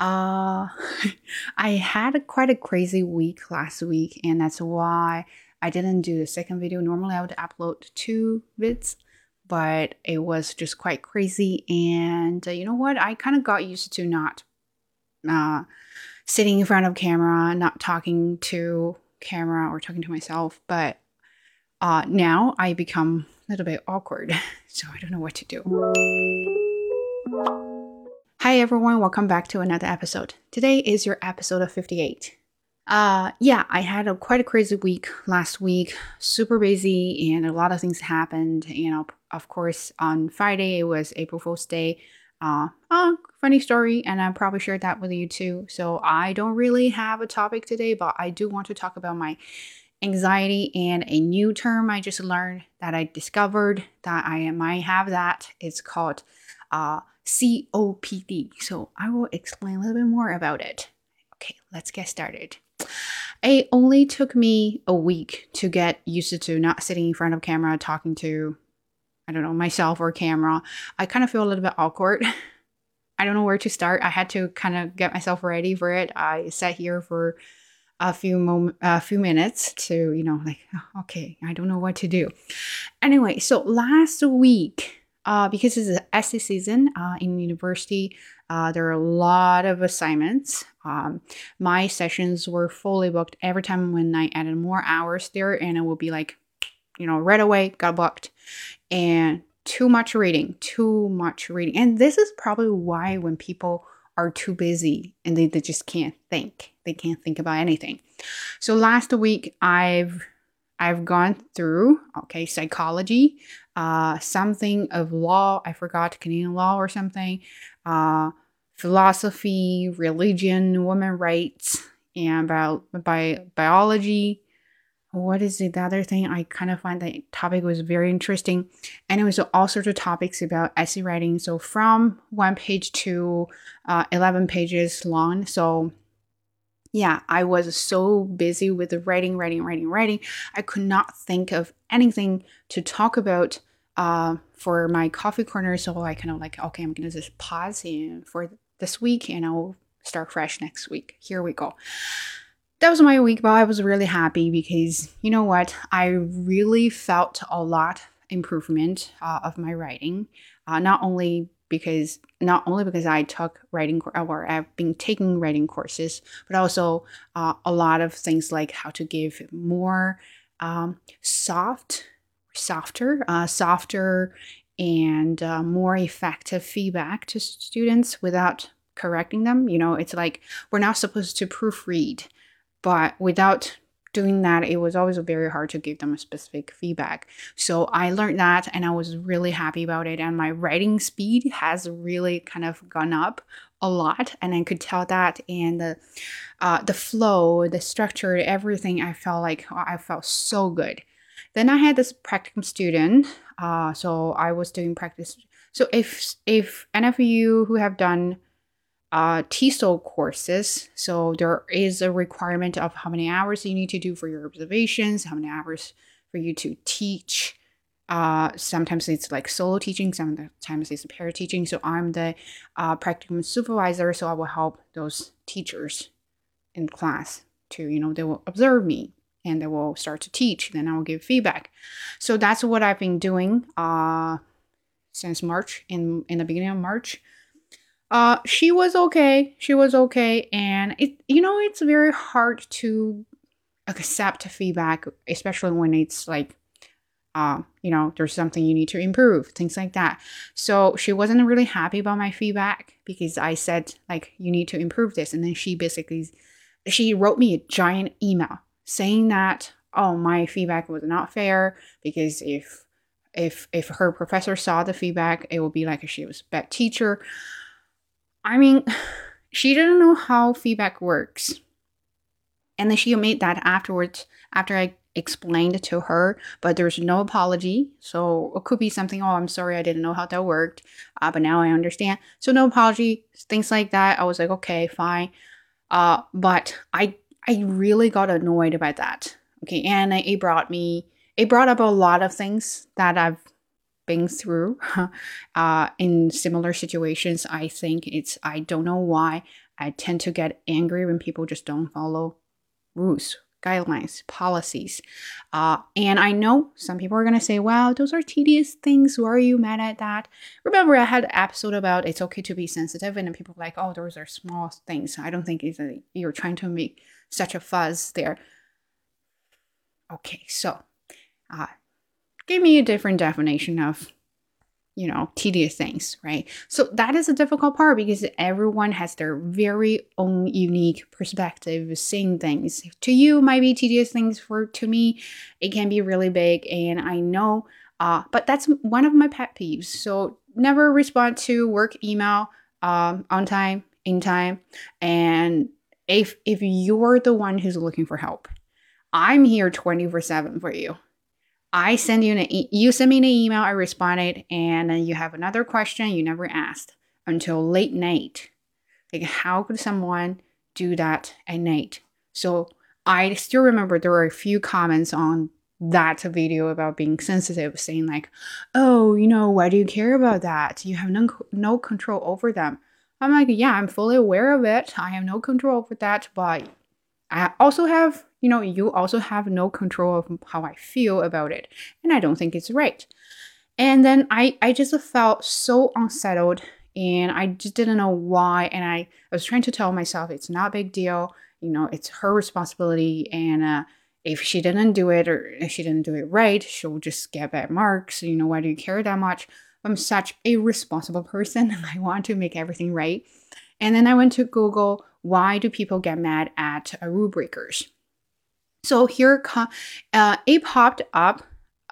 Uh, I had quite a crazy week last week, and that's why I didn't do the second video. Normally, I would upload two vids, but it was just quite crazy. And you know what? I kind of got used to not uh, sitting in front of camera, not talking to camera or talking to myself. But now I become a little bit awkward, so I don't know what to do. Hi everyone, welcome back to another episode. Today is your episode of 58. I had quite a crazy week last week, super busy, and a lot of things happened. Of course, on Friday it was April Fool's Day. Funny story, and I probably shared that with you too. So I don't really have a topic today, but I do want to talk about my anxiety and a new term I just learned that I discovered that I might have that. It's called COPD. So I will explain a little bit more about it. Okay, let's get started. It only took me a week to get used to not sitting in front of camera talking to, myself or camera. I kind of feel a little bit awkward. I don't know where to start. I had to kind of get myself ready for it. I sat here for a few minutes to, okay, I don't know what to do. Anyway, so last week, because it's the essay season in university, there are a lot of assignments. My sessions were fully booked every time when I added more hours there, and it will be like, right away got booked. And too much reading. And this is probably why when people are too busy and they just can't think. They can't think about anything. So last week I've gone through, psychology, something of law, I forgot, Canadian law or something, philosophy, religion, women's rights, and about biology. What is the other thing? I kind of find the topic was very interesting. And it was all sorts of topics about essay writing. So from 1 page to 11 pages long. So yeah, I was so busy with the writing. I could not think of anything to talk about for my coffee corner. So I kind of like, okay, I'm going to just pause for this week and I'll start fresh next week. Here we go. That was my week, but I was really happy because you know what? I really felt a lot improvement of my writing. Not only because I took writing or I've been taking writing courses, but also a lot of things like how to give more softer and more effective feedback to students without correcting them. It's like we're not supposed to proofread. But without doing that, it was always very hard to give them a specific feedback. So I learned that and I was really happy about it. And my writing speed has really kind of gone up a lot. And I could tell that. And the flow, the structure, everything, I felt so good. Then I had this practicum student. So I was doing practice. So if any of you who have done TESOL courses. So there is a requirement of how many hours you need to do for your observations, how many hours for you to teach. Sometimes it's like solo teaching, sometimes it's pair teaching. So I'm the practicum supervisor, so I will help those teachers in class to, they will observe me and they will start to teach. Then I will give feedback. So that's what I've been doing since March, in the beginning of March. She was okay, and it's very hard to accept feedback, especially when it's like, there's something you need to improve, things like that. So she wasn't really happy about my feedback because I said, like, you need to improve this. And then she wrote me a giant email saying that, oh, my feedback was not fair because if her professor saw the feedback, it would be like she was a bad teacher. I mean, she didn't know how feedback works. And then she made that afterwards, after I explained it to her, but there's no apology. So it could be something, oh, I'm sorry, I didn't know how that worked, but now I understand. So no apology, things like that. I was like, okay, fine. But I really got annoyed about that. Okay, and it brought up a lot of things that I've been through in similar situations. I think I don't know why I tend to get angry when people just don't follow rules, guidelines, policies. And I know some people are going to say, wow, those are tedious things. Why are you mad at that? Remember, I had an episode about it's okay to be sensitive, and then people are like, oh, those are small things. I don't think you're trying to make such a fuss there. Okay, so give me a different definition of tedious things, right? So that is a difficult part because everyone has their very own unique perspective of seeing things. To you, might be tedious things. To me, it can be really big, and I know. But that's one of my pet peeves. So never respond to work email on time, in time, and if you're the one who's looking for help, I'm here 24/7 for you. I send you you send me an email, I responded, and then you have another question you never asked until late night. Like, how could someone do that at night? So I still remember there were a few comments on that video about being sensitive, saying like, oh, why do you care about that? You have no control over them. I'm like, yeah, I'm fully aware of it. I have no control over that, but I also have, you also have no control of how I feel about it. And I don't think it's right. And then I just felt so unsettled, and I just didn't know why. And I was trying to tell myself it's not a big deal. It's her responsibility. And if she didn't do it, or if she didn't do it right, she'll just get bad marks. Why do you care that much? I'm such a responsible person. I want to make everything right. And then I went to Google, why do people get mad at rule breakers? So here it popped up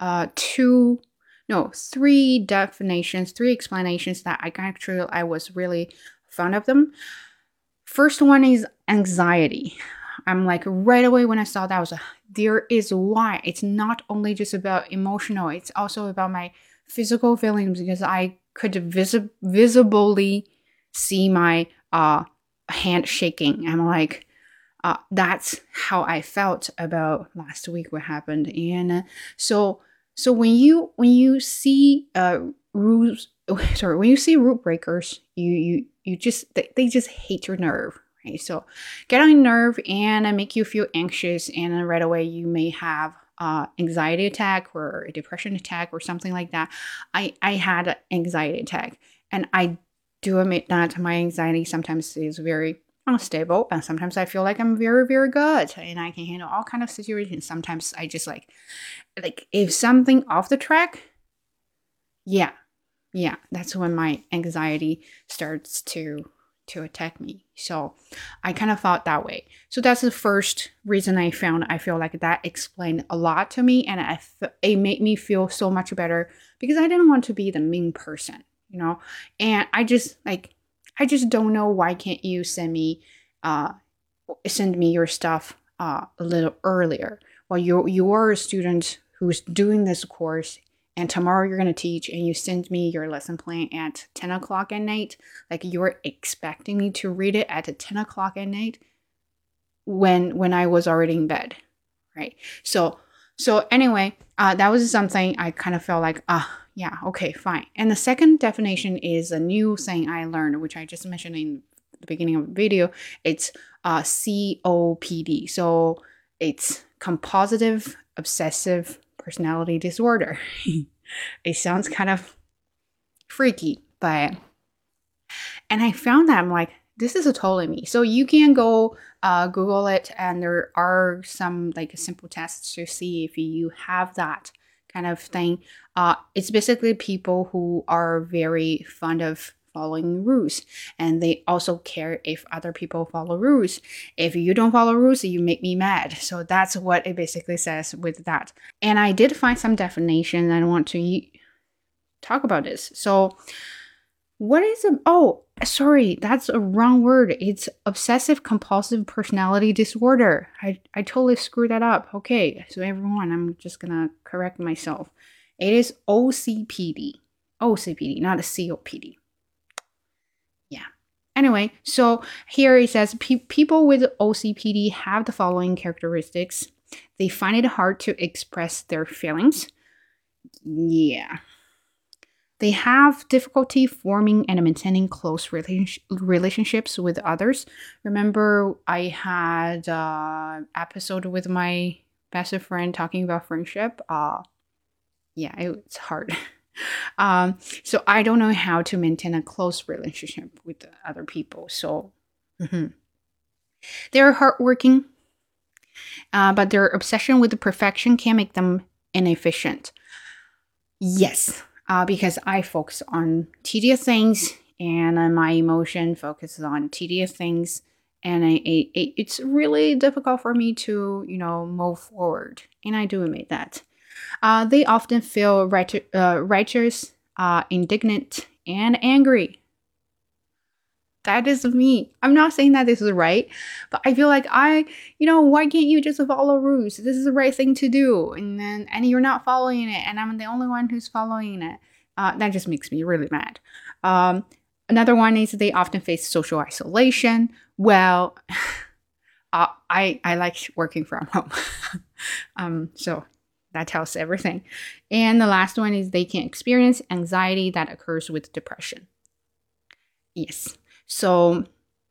three definitions, three explanations that I was really fond of them. First one is anxiety. I'm like, right away when I saw that, I was like, there is why. It's not only just about emotional, it's also about my physical feelings, because I could visibly see my hand shaking. I'm like, that's how I felt about last week, what happened. And so when you see rules, when you see rule breakers, you just they just hate your nerve, right? So get on your nerve and make you feel anxious, and then right away you may have anxiety attack or a depression attack or something like that. I had an anxiety attack, and I do admit that my anxiety sometimes is very unstable, and sometimes I feel like I'm very, very good and I can handle all kind of situations. Sometimes I just like if something off the track, yeah, that's when my anxiety starts to attack me. So I kind of thought that way. So that's the first reason I feel like that explained a lot to me, and it made me feel so much better because I didn't want to be the mean person, and I just don't know, why can't you send me your stuff a little earlier? Well, you're a student who's doing this course, and tomorrow you're going to teach, and you send me your lesson plan at 10 o'clock at night. Like, you're expecting me to read it at 10 o'clock at night when I was already in bed, right? So anyway, that was something I kind of felt like, yeah, okay, fine. And the second definition is a new thing I learned, which I just mentioned in the beginning of the video. It's COPD. So it's compositive obsessive personality disorder. It sounds kind of freaky, and I found that I'm like, this is totally me. So you can go Google it, and there are some like simple tests to see if you have that kind of thing. It's basically people who are very fond of following rules, and they also care if other people follow rules. If you don't follow rules, you make me mad. So that's what it basically says with that. And I did find some definition, and I want to talk about this. So what is sorry, that's a wrong word. It's obsessive compulsive personality disorder. I totally screwed that up. Okay, so everyone, I'm just gonna correct myself. It is OCPD, not a COPD. Yeah. Anyway, so here it says people with OCPD have the following characteristics. They find it hard to express their feelings. Yeah. They have difficulty forming and maintaining close relationships with others. Remember, I had an episode with my best friend talking about friendship. Yeah, it's hard. So I don't know how to maintain a close relationship with other people. So they're hardworking, but their obsession with the perfection can make them inefficient. Yes, because I focus on tedious things, and my emotion focuses on tedious things, and it's really difficult for me to move forward, and I do admit that. They often feel righteous, indignant, and angry. That is me. I'm not saying that this is right, but I feel like why can't you just follow rules? This is the right thing to do, and you're not following it, and I'm the only one who's following it. That just makes me really mad. Another one is they often face social isolation. Well, I like working from home, so that tells everything. And the last one is they can experience anxiety that occurs with depression. Yes. So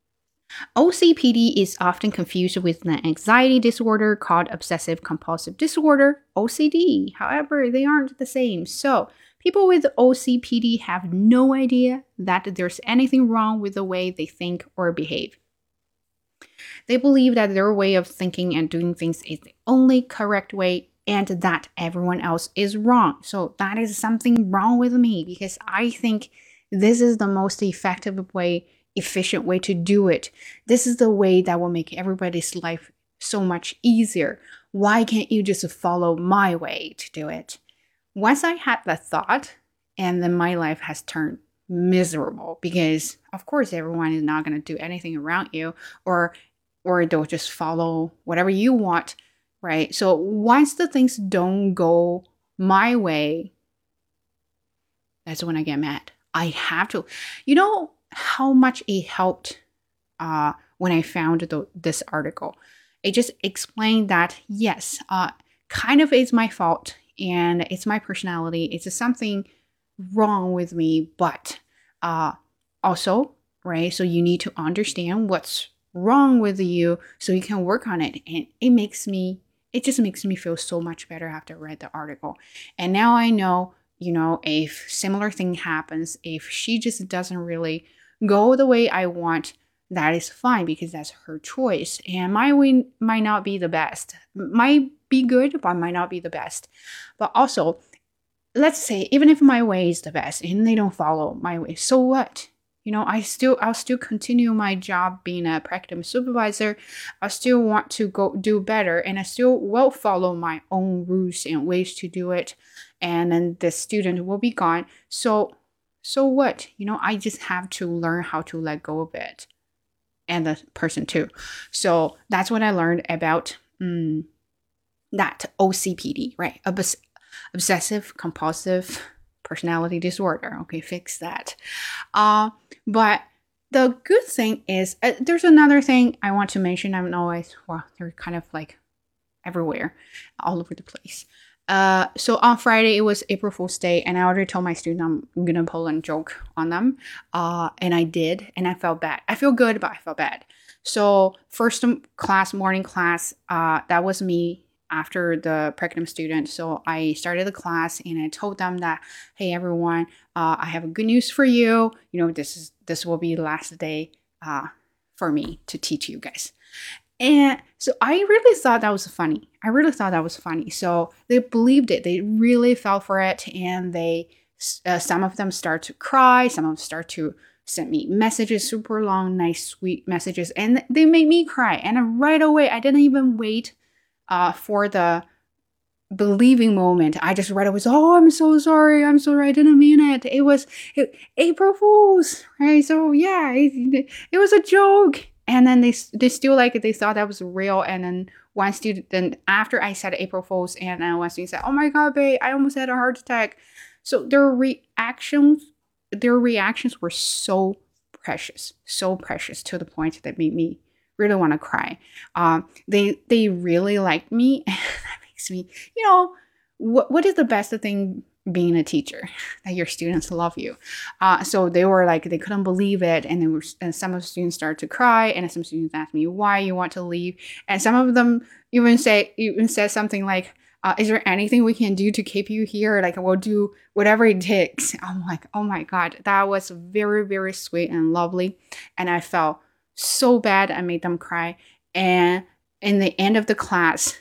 OCPD is often confused with an anxiety disorder called obsessive compulsive disorder, OCD. However, they aren't the same. So people with OCPD have no idea that there's anything wrong with the way they think or behave. They believe that their way of thinking and doing things is the only correct way and that everyone else is wrong. So that is something wrong with me, because I think this is the most effective way, efficient way to do it. This is the way that will make everybody's life so much easier. Why can't you just follow my way to do it? Once I had that thought, and then my life has turned miserable, because of course everyone is not going to do anything around you, or they'll just follow whatever you want, right? So once the things don't go my way, that's when I get mad. I have to. You know how much it helped when I found this article. It just explained that, yes, kind of is my fault, and it's my personality. It's just something wrong with me, but also, right? So you need to understand what's wrong with you so you can work on it. And it just makes me feel so much better after I read the article. And now I know, if similar thing happens, if she just doesn't really go the way I want, that is fine, because that's her choice. And my way might not be the best. Might be good, but might not be the best. But also, let's say, even if my way is the best and they don't follow my way, so what? I'll still continue my job being a practicum supervisor. I still want to go do better, and I still will follow my own rules and ways to do it. And then the student will be gone. So what? I just have to learn how to let go of it, and the person too. So that's what I learned about that OCPD, right? Obsessive compulsive personality disorder. Okay, fix that. But the good thing is, there's another thing I want to mention. I'm always, they're kind of like everywhere, all over the place. So on Friday, it was April Fool's Day, and I already told my student I'm going to pull a joke on them. And I did, and I felt bad. I feel good, but I felt bad. So first class, morning class, that was me after the practicum student. So I started the class, and I told them that, hey, everyone, I have good news for you. This will be the last day for me to teach you guys. And so I really thought that was funny. So they believed it. They really fell for it. And some of them start to cry. Some of them start to send me messages, super long, nice, sweet messages. And they made me cry. And right away, I didn't even wait for the believing moment. I just read it was, oh, I'm so sorry. I didn't mean it. It was April Fool's, right? So yeah, it was a joke. And then they still they thought that was real. And then one student, after I said April Fool's, and then one student said, oh my God, babe, I almost had a heart attack. So their reactions were so precious to the point that made me really want to cry. They really liked me. And that makes me, what is the best thing being a teacher, that your students love you. So they were like, they couldn't believe it. And some of the students started to cry, and some students asked me why you want to leave. And some of them even said something like, is there anything we can do to keep you here? Like, we'll do whatever it takes. I'm like, oh my God, that was very, very sweet and lovely. And I felt so bad. I made them cry. And in the end of the class,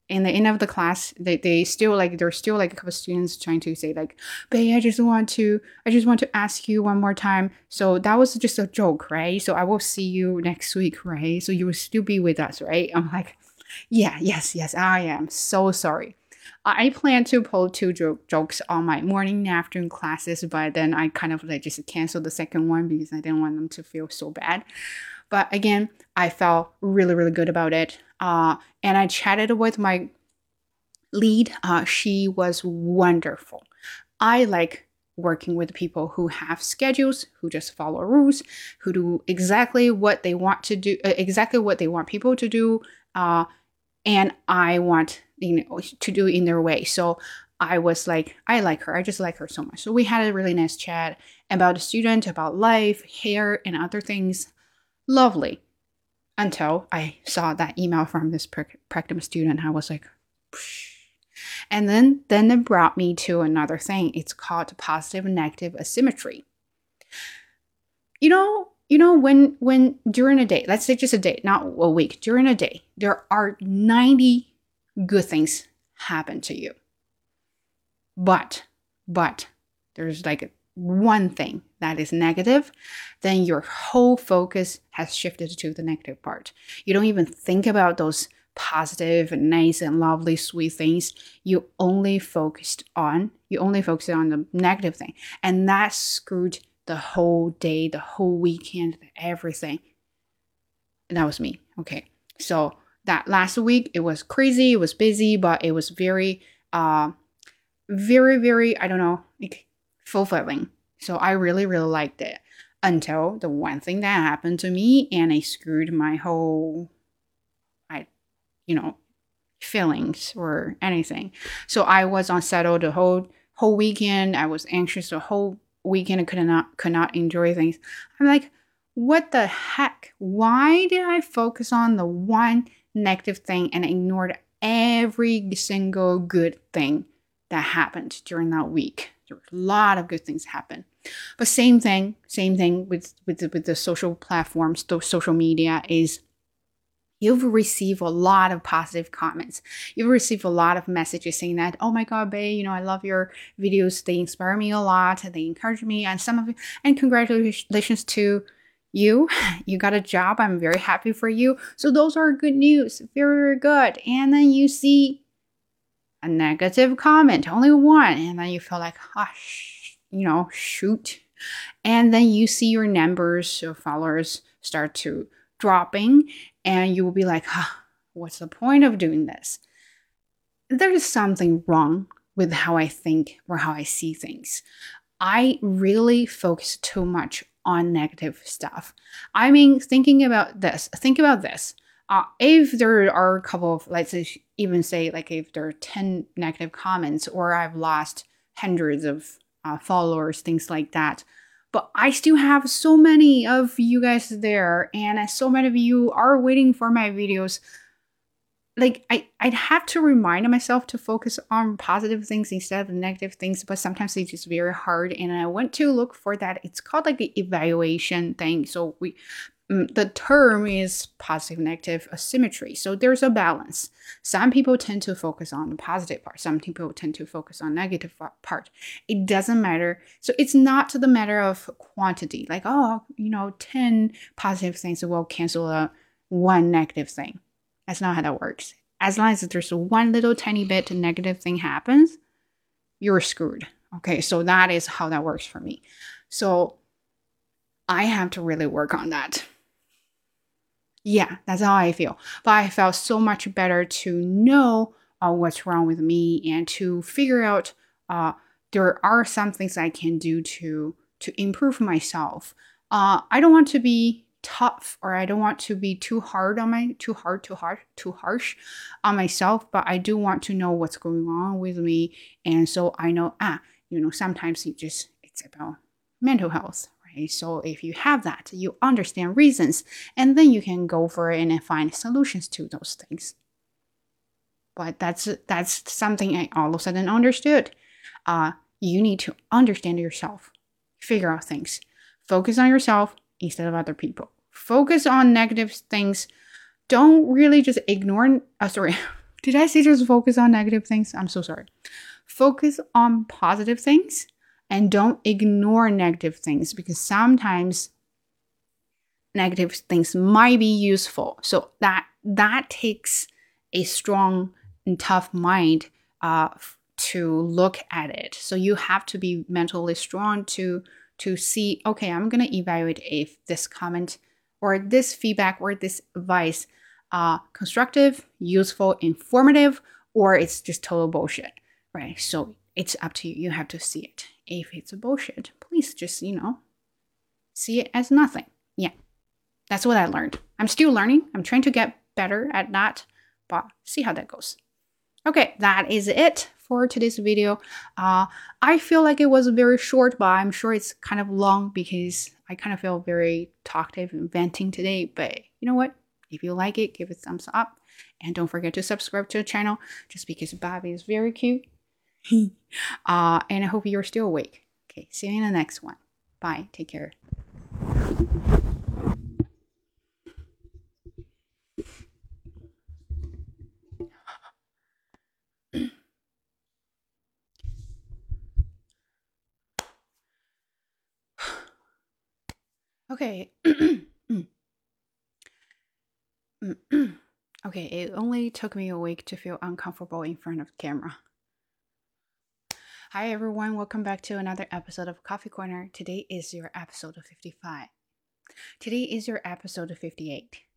they still like, there's still like a couple of students trying to say like, Bei, I just want to ask you one more time. So that was just a joke, right? So I will see you next week, right? So you will still be with us, right? I'm like, yeah, yes, I am so sorry. I plan to post two jokes on my morning and afternoon classes, but then I kind of like just canceled the second one because I didn't want them to feel so bad. But again, I felt really, really good about it. And I chatted with my lead. She was wonderful. I like working with people who have schedules, who just follow rules, who do exactly what they want to do, exactly what they want people to do. And I want to do in their way. So I was like, I like her. I just like her so much. So we had a really nice chat about the student, about life, hair, and other things. Lovely. Until I saw that email from this Pragma student. I was like, psh. And then it brought me to another thing. It's called positive and negative asymmetry. You know, when during a day, let's say just a day, not a week, during a day, there are 90 good things happen to you. But there's like one thing that is negative, then your whole focus has shifted to the negative part. You don't even think about those positive and nice and lovely, sweet things. You only focused on the negative thing. And that screwed the whole day, the whole weekend, everything. And that was me. Okay. So that last week, it was crazy, it was busy, but it was very, very, I don't know, like fulfilling. So I really, really liked it until the one thing that happened to me, and it screwed my whole, feelings or anything. So I was unsettled the whole weekend. I was anxious the whole weekend. I could not enjoy things. I'm like, what the heck? Why did I focus on the one negative thing and ignored every single good thing that happened during that week? There were a lot of good things happen. But same thing with the social platforms, the social media is, you've received a lot of positive comments. You've received a lot of messages saying that, oh my God, Bei, I love your videos. They inspire me a lot. They encourage me. And congratulations to you. You got a job. I'm very happy for you. So those are good news. Very, very good. And then you see a negative comment, only one. And then you feel like, shoot. And then you see your numbers of followers start to dropping, and you will be like, what's the point of doing this? There is something wrong with how I think or how I see things. I really focus too much on negative stuff. I mean, think about this. If there are a couple of, let's even say, like if there are 10 negative comments, or I've lost hundreds of followers, things like that, but I still have so many of you guys there, and so many of you are waiting for my videos. Like, I'd have to remind myself to focus on positive things instead of negative things, but sometimes it's just very hard. And I went to look for that. It's called like the evaluation thing. So the term is positive negative asymmetry. So there's a balance. Some people tend to focus on the positive part. Some people tend to focus on negative part. It doesn't matter. So it's not the matter of quantity. Like, 10 positive things will cancel one negative thing. That's not how that works. As long as there's one little tiny bit negative thing happens, you're screwed. Okay, so that is how that works for me. So I have to really work on that. Yeah, that's how I feel. But I felt so much better to know what's wrong with me and to figure out there are some things I can do to improve myself. I don't want to be tough, or I don't want to be too harsh on myself, but I do want to know what's going on with me. And so I know, sometimes it's about mental health, right? So if you have that, you understand reasons, and then you can go for it and find solutions to those things. But that's something I all of a sudden understood. You need to understand yourself, figure out things, focus on yourself instead of other people. Focus on negative things. Don't really just ignore. Sorry, did I say just focus on negative things? I'm so sorry. Focus on positive things and don't ignore negative things, because sometimes negative things might be useful. So that takes a strong and tough mind to look at it. So you have to be mentally strong to see, okay, I'm going to evaluate if this comment or this feedback or this advice constructive, useful, informative, or it's just total bullshit, right? So it's up to you. You have to see it. If it's a bullshit, please just, see it as nothing. Yeah, that's what I learned. I'm still learning. I'm trying to get better at that, but see how that goes. Okay, that is it for today's video. I feel like it was very short, but I'm sure it's kind of long because I kind of feel very talkative and venting today. But you know what? If you like it, give it a thumbs up. And don't forget to subscribe to the channel just because Bobby is very cute. And I hope you're still awake. Okay, see you in the next one. Bye. Take care. Okay. Okay, it only took me a week to feel uncomfortable in front of the camera. Hi everyone, welcome back to another episode of Coffee Corner. Today is your episode of 55. Today is your episode of 58.